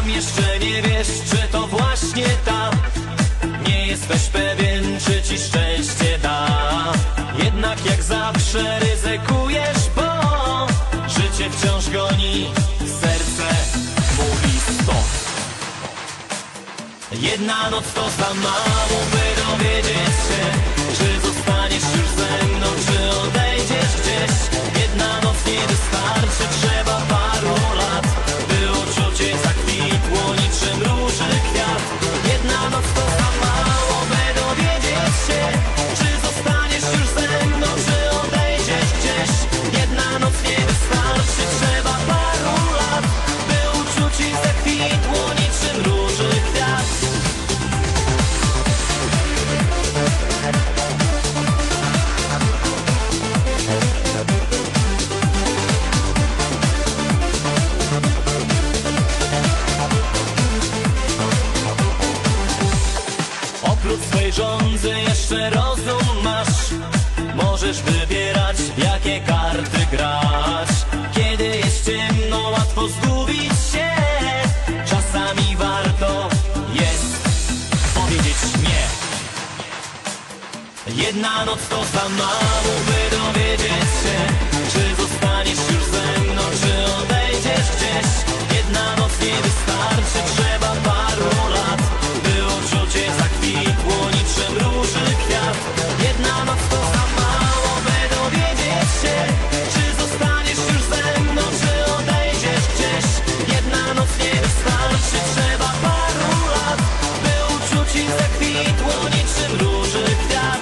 Tam jeszcze nie wiesz, czy to właśnie ta. Nie jesteś pewien, czy ci szczęście da. Jednak jak zawsze ryzykujesz, bo życie wciąż goni, serce mówi stop. Jedna noc to za mało, by dowiedzieć się, czy zostaniesz już ze mną, czy odejdziesz gdzieś. Jedna noc nie wystarczy, trzeba paru lat, by uczucie zakwitło niczym róży kwiat. Jedna noc to za mało, by dowiedzieć się, czy zostaniesz już ze mną, czy odejdziesz gdzieś. Jedna noc nie wystarczy, trzeba paru lat, by uczucie zakwitło niczym róży kwiat. Oprócz swej żądzy jeszcze rozum masz. Możesz wybierać, jakie karty grać. Kiedy jest ciemno, łatwo zgubić się. Czasami warto jest powiedzieć nie. Jedna noc to za mało, by dowiedzieć się, czy zostaniesz już ze mną, czy odejdziesz gdzieś. Jedna noc nie wystarczy, trzeba paru lat, by uczucie zakwitło niczym róży kwiat. Jedna noc to za mało, by dowiedzieć się, czy zostaniesz już ze mną, czy odejdziesz gdzieś. Jedna noc nie wystarczy, trzeba paru lat, by uczucie zakwitło niczym róży kwiat.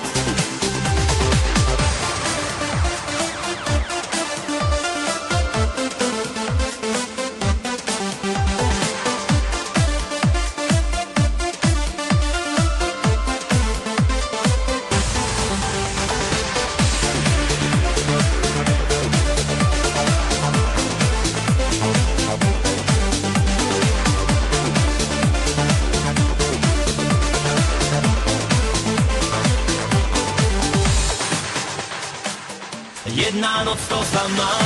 Jedna noc to za mało.